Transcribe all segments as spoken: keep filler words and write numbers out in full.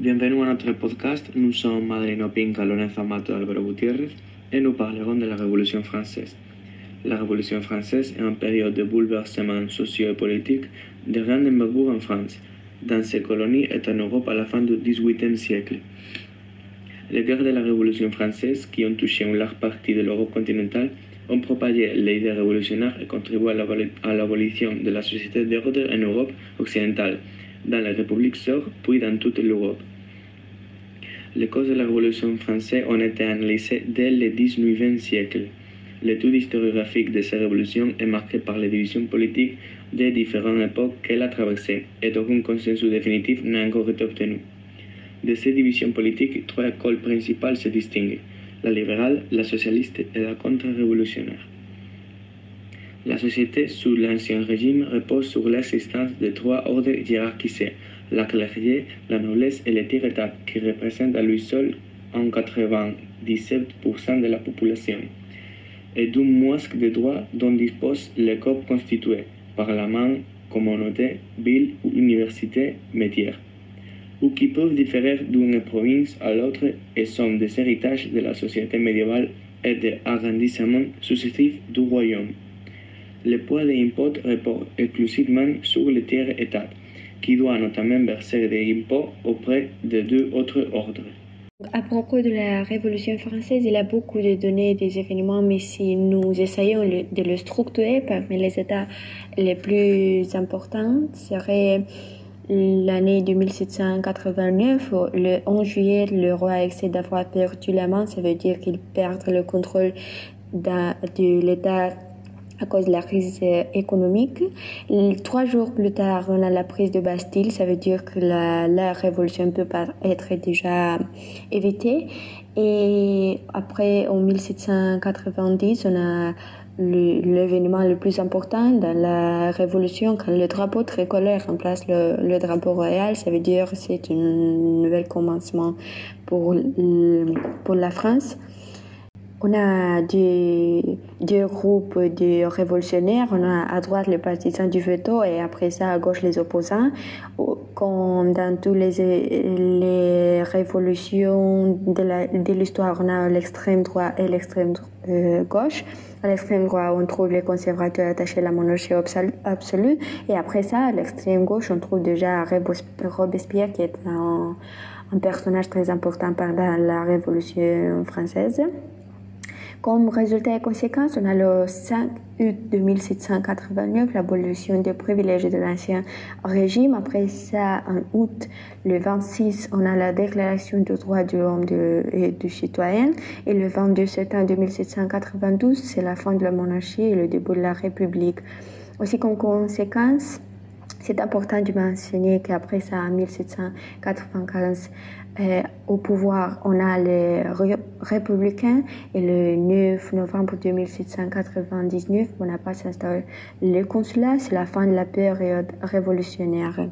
Bienvenue à notre podcast. Nous sommes Madeleine Opinka, Lorenzo Amato et Alvaro Gutiérrez et nous parlerons de la Révolution française. La Révolution française est une période de bouleversement socio-politique de grande envergure en France, dans ses colonies et en Europe à la fin du dix-huitième siècle. Les guerres de la Révolution française, qui ont touché une large partie de l'Europe continentale, ont propagé l'idée révolutionnaire et contribué à l'abolition de la société d'ordre en Europe occidentale, dans la République sœur, puis dans toute l'Europe. Les causes de la Révolution française ont été analysées dès le dix-neuvième siècle. L'étude historiographique de ces révolutions est marquée par les divisions politiques des différentes époques qu'elle a traversées, et aucun consensus définitif n'a encore été obtenu. De ces divisions politiques, trois écoles principales se distinguent: la libérale, la socialiste et la contre-révolutionnaire. La société sous l'Ancien Régime repose sur l'existence de trois ordres hiérarchisés: la clergé, la noblesse et le tiers-état, qui représentent à lui seul en quatre-vingt-dix-sept pour cent de la population, et d'un masque de droits dont disposent les corps constitués: parlement, communauté, ville ou université, métier, ou qui peuvent différer d'une province à l'autre et sont des héritages de la société médiévale et des arrondissements successifs du royaume. Le poids des impôts repose exclusivement sur le tiers-état, qui doit notamment verser des impôts auprès de deux autres ordres. À propos de la Révolution française, il y a beaucoup de données, des événements, mais si nous essayons de le structurer parmi les états les plus importants, serait l'année de mille sept cent quatre-vingt-neuf. Le onze juillet, le roi accède d'avoir perdu la main, ça veut dire qu'il perd le contrôle de l'État à cause de la crise économique. Trois jours plus tard, on a la prise de Bastille. Ça veut dire que la, la révolution peut pas être déjà évitée. Et après, en mille sept cent quatre-vingt-dix, on a le, l'événement le plus important dans la révolution, quand le drapeau tricolore remplace le, le drapeau royal. Ça veut dire que c'est un nouvel commencement pour, pour la France. On a deux, deux groupes de révolutionnaires. On a à droite les partisans du veto et après ça à gauche les opposants. Comme dans toutes les, les révolutions de, la, de l'histoire, on a l'extrême droit et l'extrême euh, gauche. À l'extrême droit, on trouve les conservateurs attachés à la monarchie absolue. Et après ça, à l'extrême gauche, on trouve déjà Robespierre qui est un, un personnage très important pendant la Révolution française. Comme résultat et conséquence, on a le cinq août mille sept cent quatre-vingt-neuf l'abolition des privilèges de l'ancien régime. Après ça, en août, le vingt-six, on a la déclaration des droits de l'homme et du citoyen. Et le vingt-deux septembre mille sept cent quatre-vingt-douze, c'est la fin de la monarchie et le début de la République. Aussi comme conséquence, c'est important de mentionner qu'après ça, en mille sept cent quatre-vingt-quinze, euh, au pouvoir, on a les ré- républicains et le neuf novembre mille sept cent quatre-vingt-dix-neuf, Bonaparte s'installe le consulat. C'est la fin de la période révolutionnaire.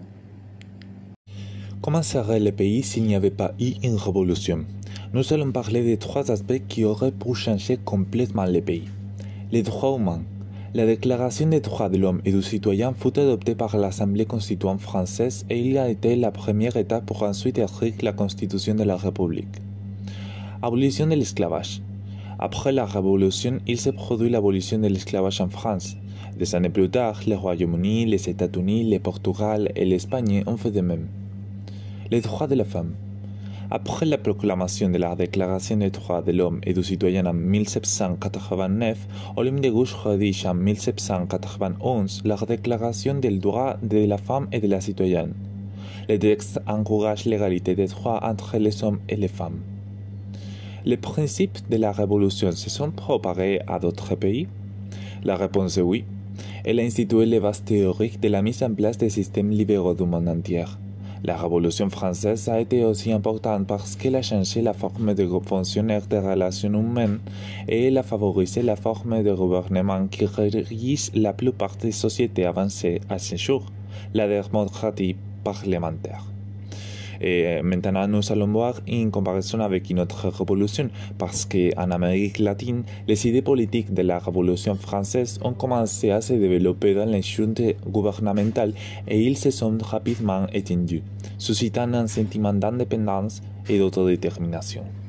Comment serait le pays s'il n'y avait pas eu une révolution? Nous allons parler de trois aspects qui auraient pu changer complètement le pays. Les droits humains. La Déclaration des droits de l'homme et du citoyen fut adoptée par l'Assemblée constituante française et il a été la première étape pour ensuite écrire la Constitution de la République. Abolition de l'esclavage. Après la Révolution, il s'est produit l'abolition de l'esclavage en France. Des années plus tard, le Royaume-Uni, les États-Unis, le Portugal et l'Espagne ont fait de même. Les droits de la femme. Après la proclamation de la Déclaration des droits de l'homme et du citoyen en mille sept cent quatre-vingt-neuf, Olympe de Gouges rédige en mille sept cent quatre-vingt-onze la Déclaration des droits de la femme et de la citoyenne. Le texte encourage l'égalité des droits entre les hommes et les femmes. Les principes de la Révolution se sont propagés à d'autres pays? La réponse est oui. Elle a institué les bases théoriques de la mise en place des systèmes libéraux du monde entier. La Révolution française a été aussi importante parce qu'elle a changé la forme de fonctionnaire des relations humaines et elle a favorisé la forme de gouvernement qui régisse la plupart des sociétés avancées à ce jour, la démocratie parlementaire. Et maintenant, nous allons voir une comparaison avec une autre révolution, parce qu'en Amérique latine, les idées politiques de la Révolution française ont commencé à se développer dans les juntes gouvernementales et ils se sont rapidement étendus, suscitant un sentiment d'indépendance et d'autodétermination.